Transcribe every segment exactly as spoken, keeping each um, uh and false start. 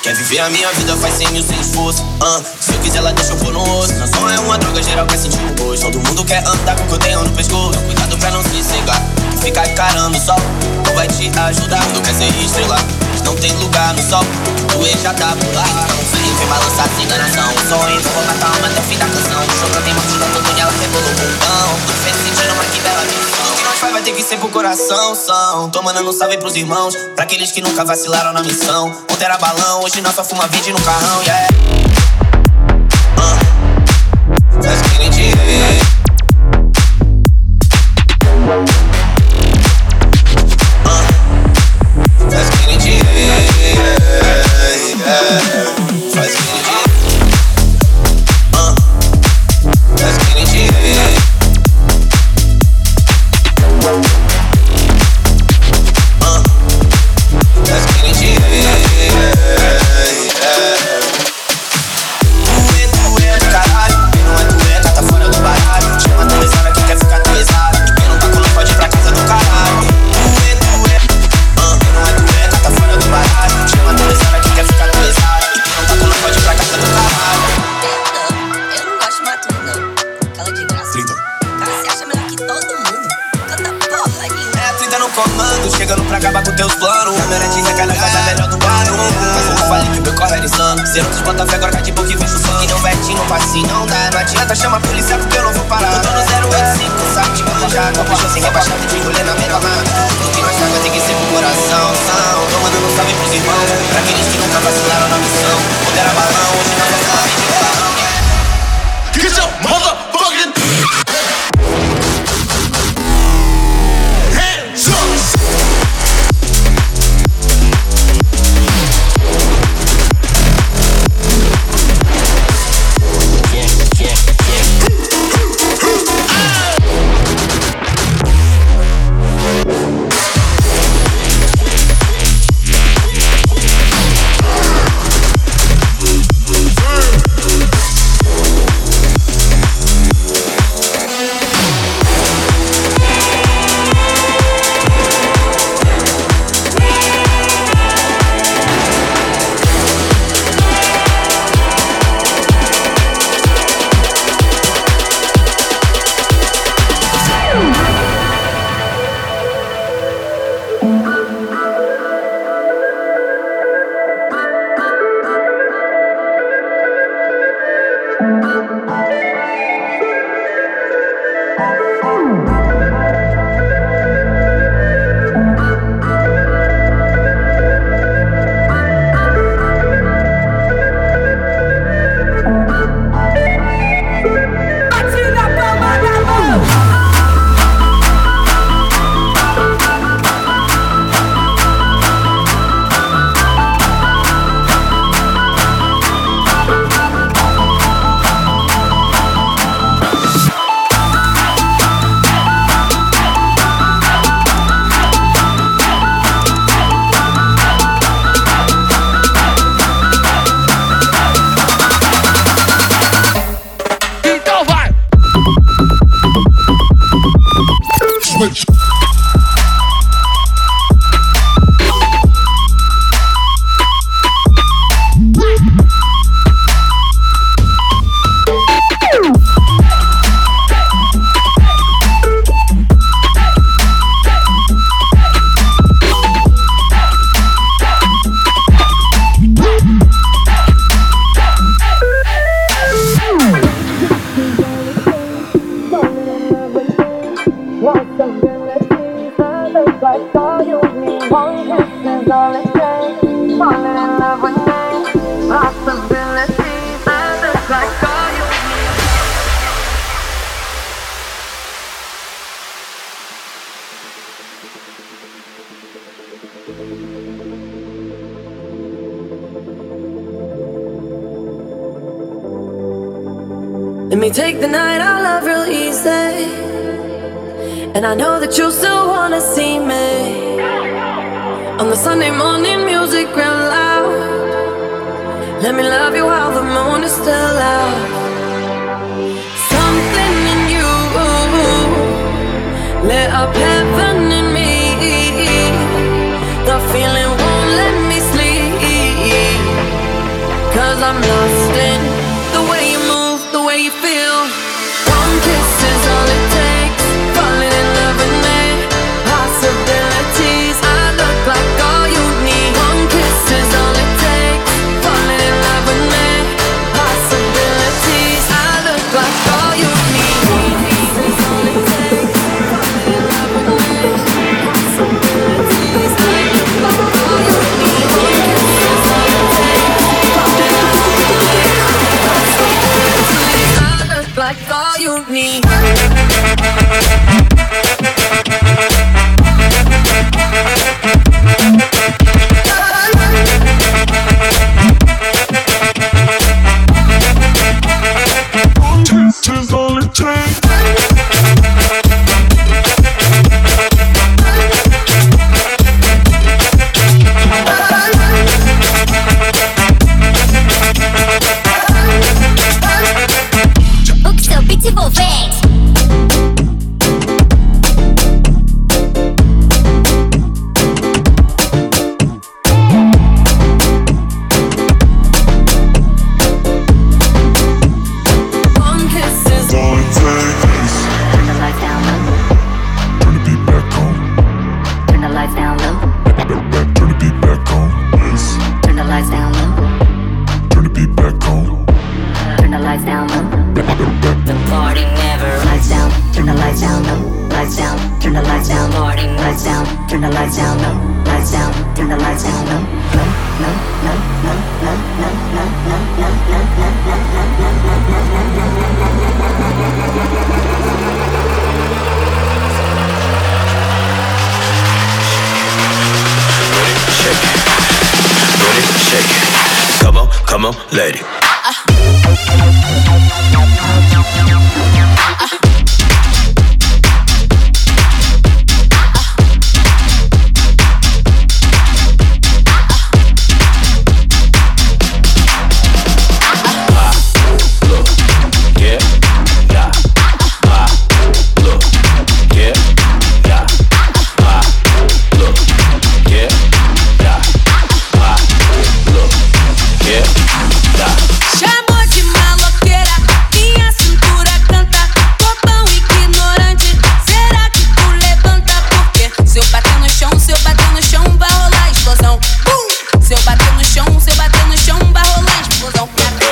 Quer viver a minha vida, faz cem mil sem esforço. uh, Se eu quiser, ela deixa eu pôr no osso. Não som é uma droga, geral quer sentir o gosto. Todo mundo quer andar com o que eu tenho no pescoço. Cuidado pra não se cegar, que ficar encarando o sol não vai te ajudar. Quando quer ser estrela, mas não tem lugar no sol. Tu já tá por lá. Não sei, vem balançar sem enganação. O sonho, vou matar uma até o fim da canção. O show tem batida, todo nela rebolou o bumbão. Tudo fez sentido, mas que bela missão. O que nós faz vai ter que ser pro coração. São, tô mandando um salve pros irmãos, pra aqueles que nunca vacilaram na missão. Ontem era balão, hoje nós só fuma verde no carrão, yeah. uh, Let's get it, yeah. uh, Let's get it, yeah. Let's get it, yeah. uh, Let's get it, yeah. uh, Let's get it, yeah. Chegando pra acabar com teus planos. Câmera de recarga faz a melhor do barulho. Mas eu não falei que o meu corre era insano. Cê não desbota fé, agora cai de boca e vejo o sangue. Não vete, não passe, não dá. Não adianta chamar a polícia porque eu não vou parar. Eu tô no zero oito cinco, sabe de planejar. Não puxa sem rebaixado de rolê na melhor mano. Tudo que nós faz tem que ser pro coração. São, tô mandando um salve pros irmãos, pra aqueles que nunca vacilaram na missão. Quando era balão, hoje não vai falar de balão. Get your motherfucking hands up! Let me take the night I love real easy, and I know that you still wanna see me on the Sunday morning music real loud. Let me love you while the moon is still out. Something in you lit up heaven in me. The feeling won't let me sleep. cause I'm lost in the way you move, the way you feel. One kiss is all it takes, falling in love with me. Possibilities, I look like all you need. One kiss is all it takes, falling in love with me. Possibilities, I look like all you need. One kiss is all it takes, falling in love with me. Possibilities, I look like all you need. One kiss is all it takes, falling in love with me. Possibilities, I look like all you need. Tis all it takes. O que seu beat envolvente. Come on, lady. Chamou de maloqueira, minha cintura canta. Bobão ignorante, será que tu levanta? Porque se eu bater no chão, se eu bater no chão, vai rolar explosão. Bum! Se eu bater no chão, se eu bater no chão, vai rolar explosão.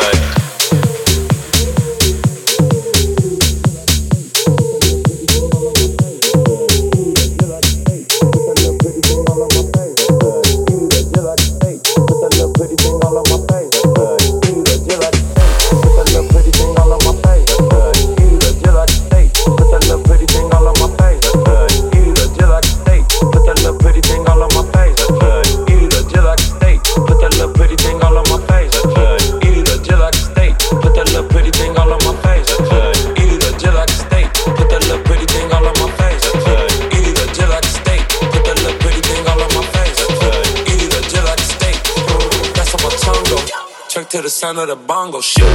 To the sound of the bongo shit.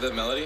that melody?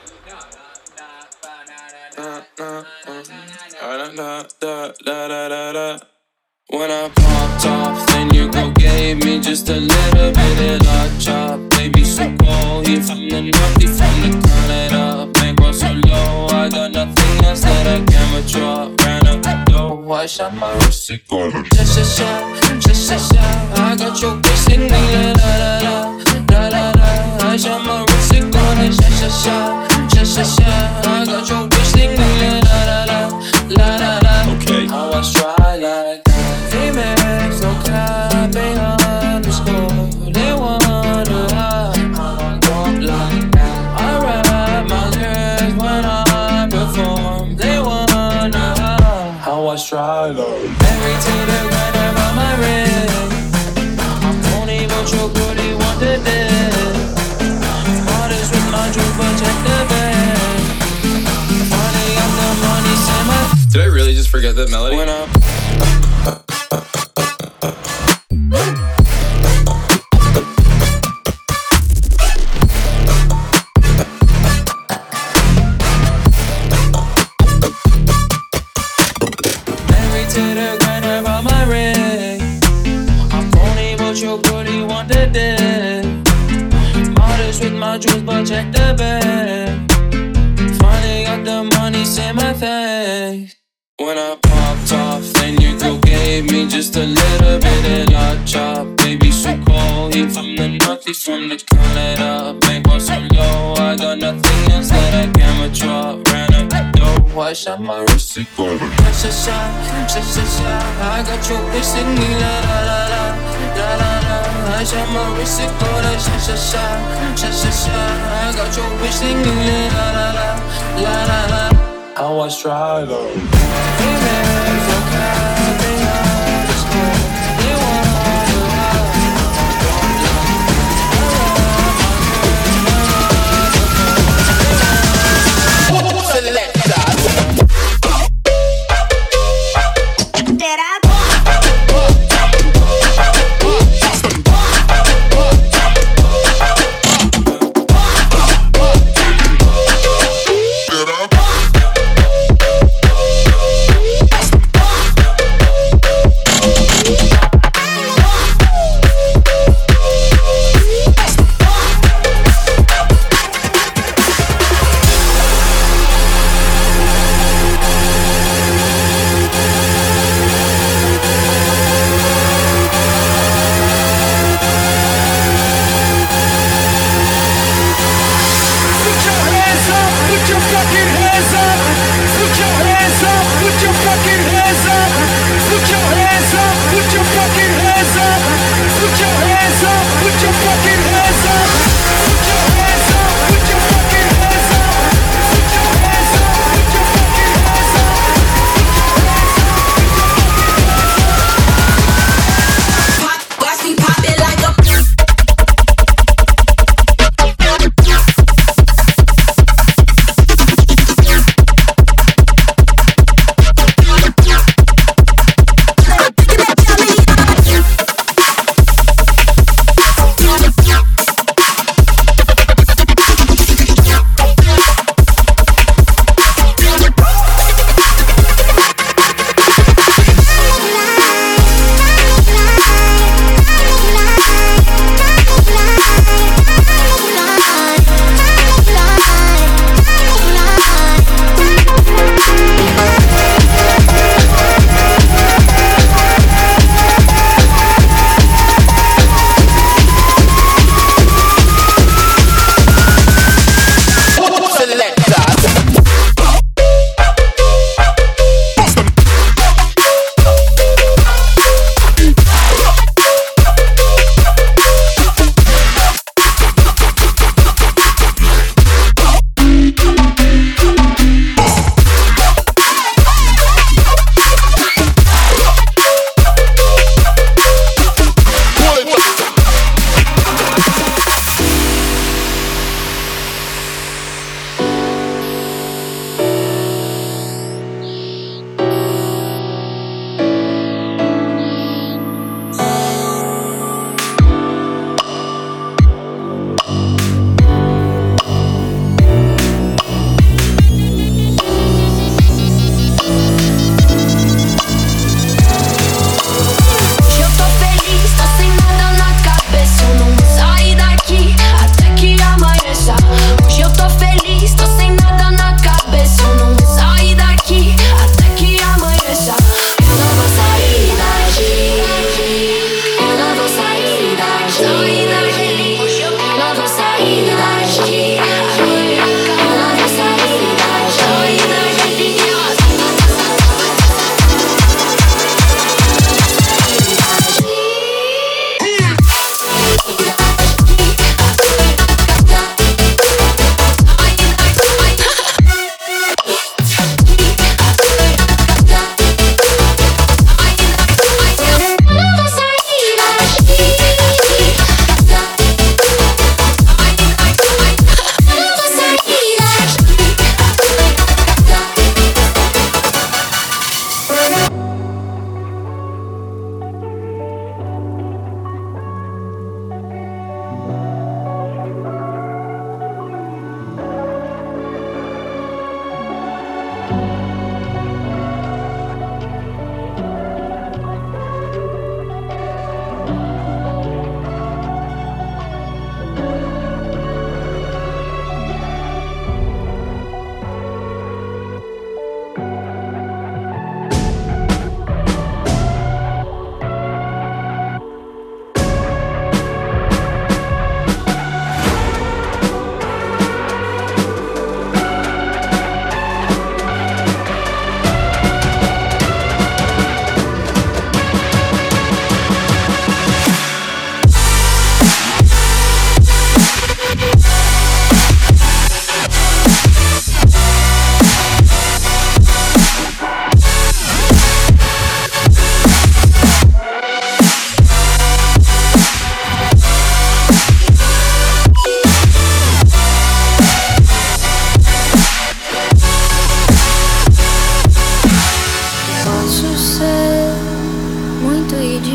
Da, da, da, da, da, da, da, da. When I popped off, then you go gave me just a little bit of la chop. Baby, so cold, he from the north, he from the Canada. Bankroll so low, I got nothing else that I can withdraw. Ran up the door, I shot my wrist, it go sha sha sha, sha sha sha. I got your bitch singing la la la la, la la la. I shot my wrist, it go sha sha sha, sha sha sha. I got your bitch singing la la la la, la la. Okay. How I try like that. Females, no cap, they underscore. They wanna hide how I walk like that. I rap my lyrics when I perform. They wanna hide how I stride up. Married to the grind around my ring. I'm only what your booty want to do. Artist with my truth, but check the bag. Finally got the money, say my. Did I really just forget that melody? When I but check the bag. Finally got the money, say my face. When I popped off, then you go gave me just a little bit of la chop. Baby, so cold, he from the north, he from the Canada. Bankroll so low, I got nothing else that I can withdraw. Ran up the door, I shot my wrist, it go sha sha sha, sha sha sha. I got your bitch singing la la la la, la la la. I shot my wrist, it go sha sha sha, sha sha sha. I got your bitch singing la la la la, la la la. How I stride up. Females, okay, they underscore. They wanna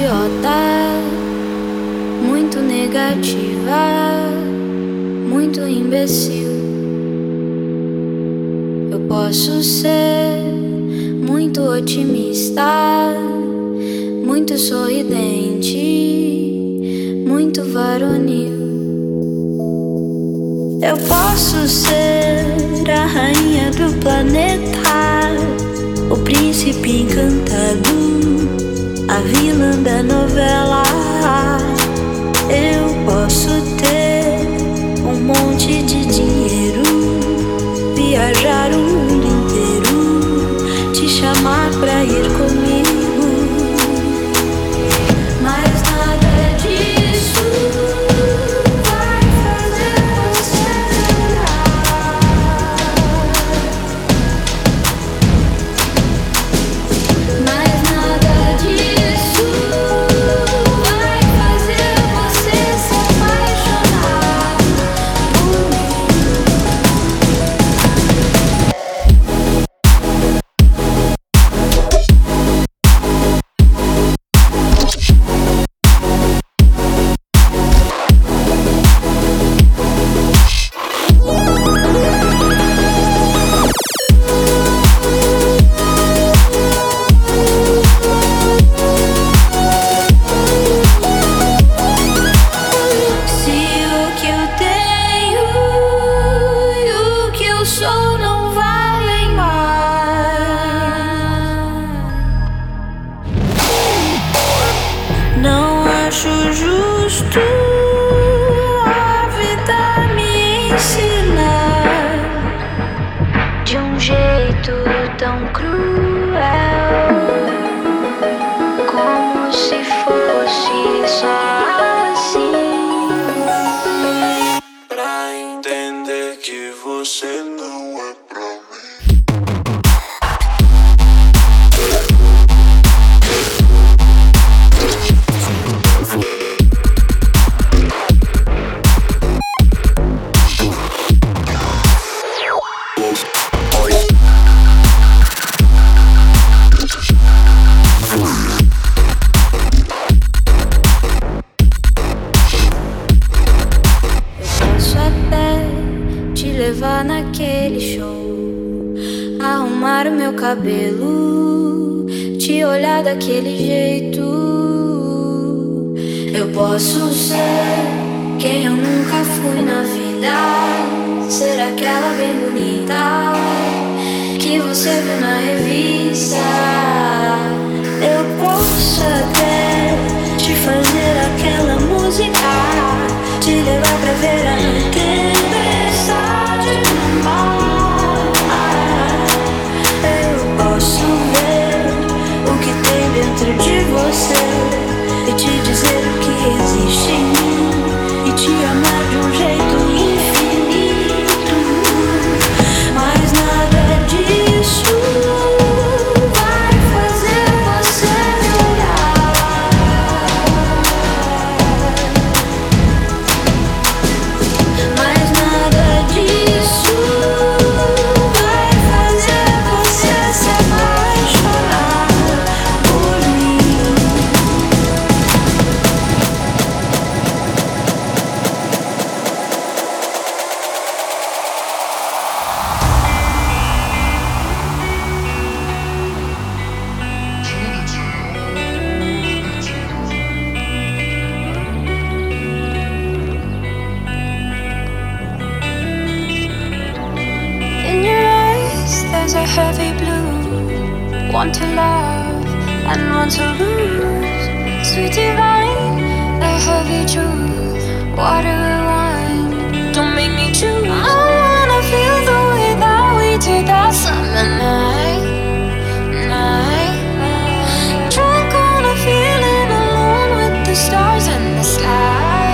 idiota, muito negativa, muito imbecil. Eu posso ser muito otimista, muito sorridente, muito varonil. Eu posso ser a rainha do planeta, o príncipe encantado, a vilã da novela. Eu posso ter um monte de dinheiro, viajar o mundo inteiro, te chamar pra ir comigo, mas nada disso vai fazer você chorar. Mas nada disso vai fazer você se apaixonar por mim. Se o que eu tenho e o que eu sou não valem mais, não acho justo a vida me ensinar de um jeito tão cruel, como se fosse só assim. Pra entender que você não é pra mim. Posso até te levar naquele show, arrumar o meu cabelo, te olhar daquele jeito. Eu posso ser quem eu nunca fui na vida, ser aquela bem bonita que você viu na revista. Eu posso até te fazer aquela música, te levar pra ver a tempestade no mar. Eu posso ver o que tem dentro de você e te dizer o que existe em mim e te amar de um jeito infinito. Mas nada disso vai fazer você me olhar. Mas nada disso vai fazer você se apaixonar por mim. In your eyes there's a heavy blue, one to love and one to lose. Sweet divine, a heavy truth, water and wine, don't make me choose. I wanna feel the way that we did that summer night, night. Drunk on a feeling alone with the stars in the sky.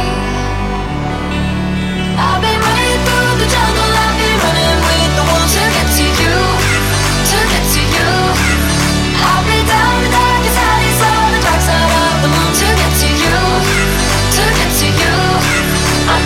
I've been running through the jungle, I've been running with the wolves to get to you, to get to you. I'll be down the darkest alleys on the dark side of the moon to get to you, to get to you. I'm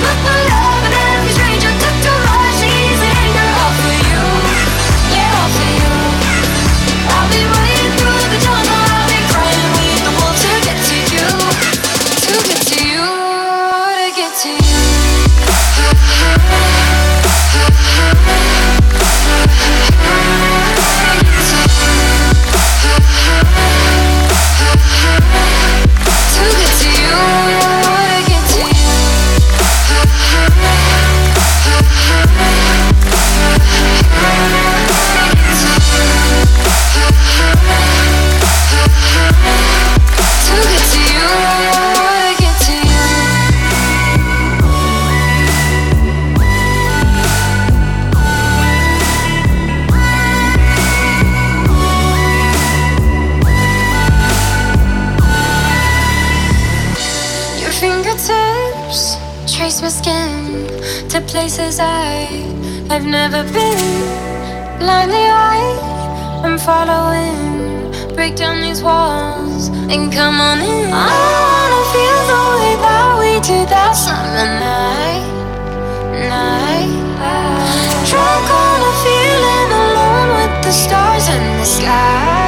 trace my skin to places I have never been. Blindly I am following. Break down these walls and come on in. I wanna feel the way that we did that summer night, night. Drunk on a feeling alone with the stars in the sky.